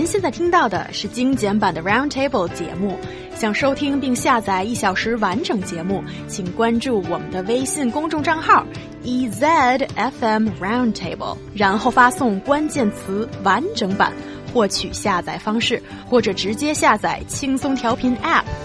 现在听到的是精简版的 Roundtable 节目。想收听并下载1小时完整节目，请关注我们的微信公众账号 EZFM Roundtable， 然后发送关键词完整版获取下载方式，或者直接下载轻松调频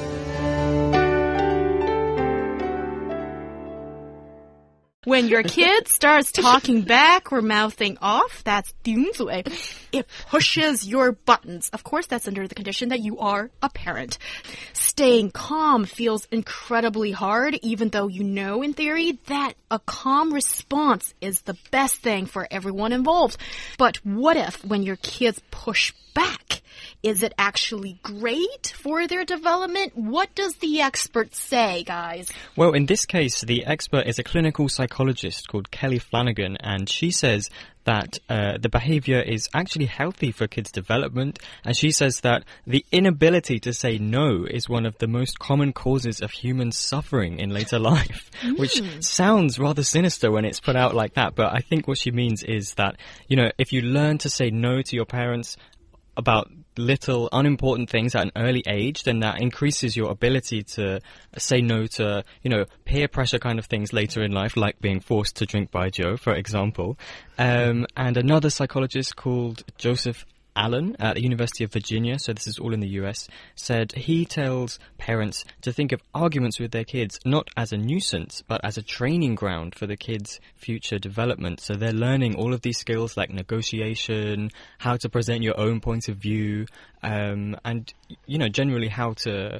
App。When your kid starts talking back or mouthing off, that's 顶嘴. It pushes your buttons. Of course, that's under the condition that you are a parent. Staying calm feels incredibly hard, even though you know in theory that a calm response is the best thing for everyone involved. But what if when your kids push back? Is it actually great for their development? What does the expert say, guys? Well, in this case, the expert is a clinical psychologist called Kelly Flanagan, and she says that the behavior is actually healthy for kids' development, and she says that the inability to say no is one of the most common causes of human suffering in later life, which sounds rather sinister when it's put out like that, but I think what she means is that, you know, if you learn to say no to your parents about little unimportant things at an early age, then that increases your ability to say no to, you know, peer pressure kind of things later in life, like being forced to drink baijiu, for example. And another psychologist called Joseph Allen at the University of Virginia, so this is all in the US, said he tells parents to think of arguments with their kids not as a nuisance, but as a training ground for the kids' future development. So they're learning all of these skills like negotiation, how to present your own point of view, and, you know, generally how to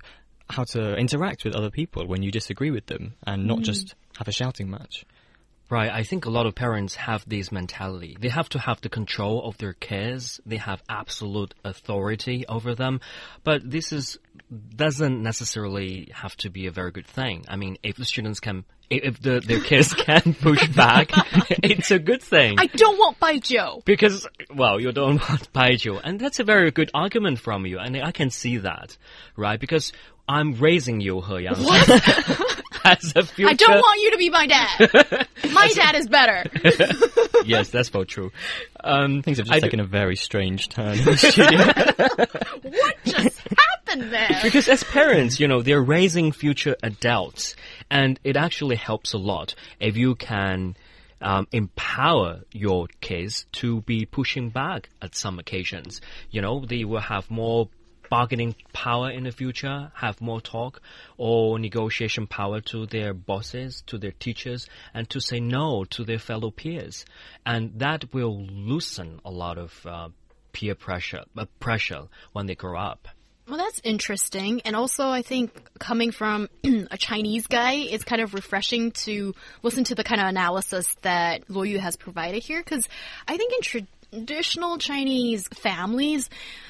interact with other people when you disagree with them and not just have a shouting match. Right, I think a lot of parents have this mentality. They have to have the control of their kids. They have absolute authority over them. But this doesn't necessarily have to be a very good thing. I mean, if the students can, if their kids can push back, it's a good thing. I don't want baijiu. Because, well, you don't want baijiu. And that's a very good argument from you. And I can see that, right? Because I'm raising you, He Yang. What? As a future... I don't want you to be my dad. My dad is better. Yes, that's very true. Things have just taken a very strange turn in the studio. What just happened there? Because as parents, you know, they're raising future adults, and it actually helps a lot if you can empower your kids to be pushing back at some occasions. You know, they will have more bargaining power in the future, have more talk or negotiation power to their bosses, to their teachers, and to say no to their fellow peers. And that will loosen a lot of peer pressure when they grow up. Well, that's interesting. And also, I think coming from a Chinese guy, it's kind of refreshing to listen to the kind of analysis that Luo Yu has provided here. Because I think in traditional Chinese families,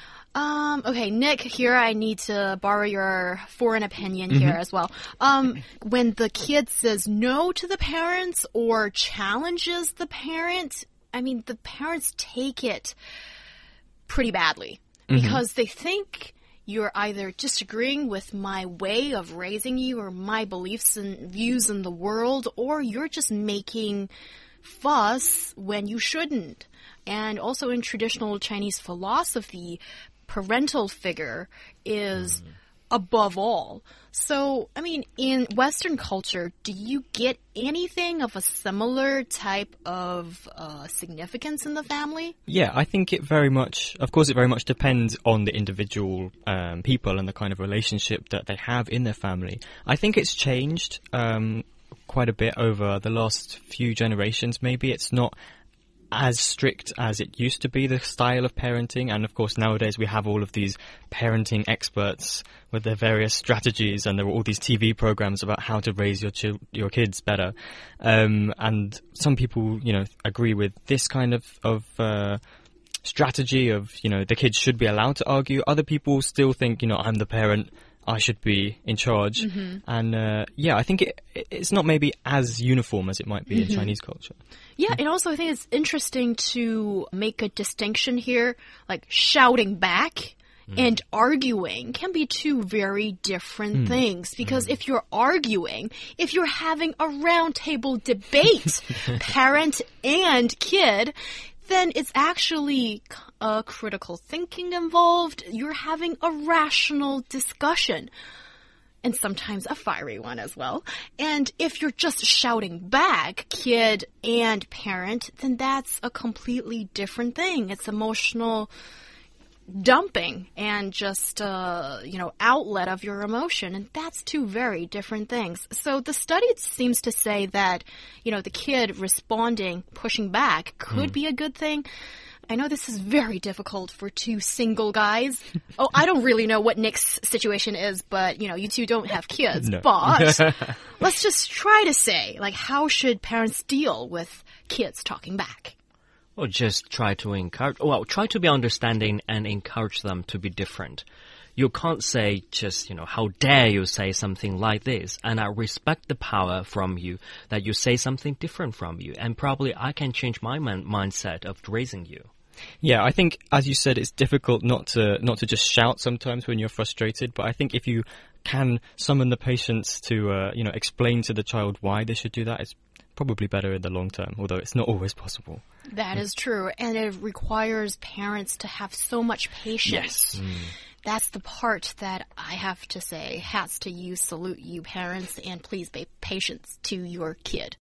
okay, Nick, here I need to borrow your foreign opinion here as well. When the kid says no to the parents or challenges the parent, I mean, the parents take it pretty badly because they think you're either disagreeing with my way of raising you or my beliefs and views in the world, or you're just making fuss when you shouldn't. And also in traditional Chinese philosophy, parental figure is above all. So, I mean, in Western culture, do you get anything of a similar type of significance in the family? Yeah, I think it very much depends on the individual people and the kind of relationship that they have in their family. I think it's changed quite a bit over the last few generations. Maybe it's not as strict as it used to be, the style of parenting. And of course, nowadays we have all of these parenting experts with their various strategies, and there are all these TV programs about how to raise your kids better. And some people, you know, agree with this kind of strategy of, you know, the kids should be allowed to argue. Other people still think, you know, I'm the parent, I should be in charge. And yeah, I think it's not maybe as uniform as it might be in Chinese culture. Yeah, and also I think it's interesting to make a distinction here, like shouting back and arguing can be two very different things. Because if you're arguing, if you're having a round table debate, parent and kid, then it's actually critical thinking involved. You're having a rational discussion. And sometimes a fiery one as well. And if you're just shouting back, kid and parent, then that's a completely different thing. It's emotional dumping and just, outlet of your emotion. And that's two very different things. So the study seems to say that, the kid responding, pushing back could be a good thing. I know this is very difficult for two single guys. Oh, I don't really know what Nick's situation is, but, you two don't have kids. No. But let's just try to say, how should parents deal with kids talking back? Or just try to be understanding and encourage them to be different. You can't say just, how dare you say something like this? And I respect the power from you that you say something different from you. And probably I can change my mindset of raising you. Yeah, I think, as you said, it's difficult not to just shout sometimes when you're frustrated. But I think if you can summon the patience to, explain to the child why they should do that, it's probably better in the long term, although it's not always possible. That is true. And it requires parents to have so much patience. Yes. That's the part that I have to say, hats to you, salute you, parents, and please be patient to your kid.